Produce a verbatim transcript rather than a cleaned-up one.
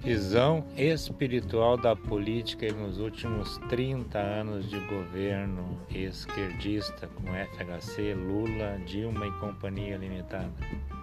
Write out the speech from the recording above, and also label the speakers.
Speaker 1: Visão espiritual da política nos últimos trinta anos de governo esquerdista com F H C, Lula, Dilma e Companhia Limitada.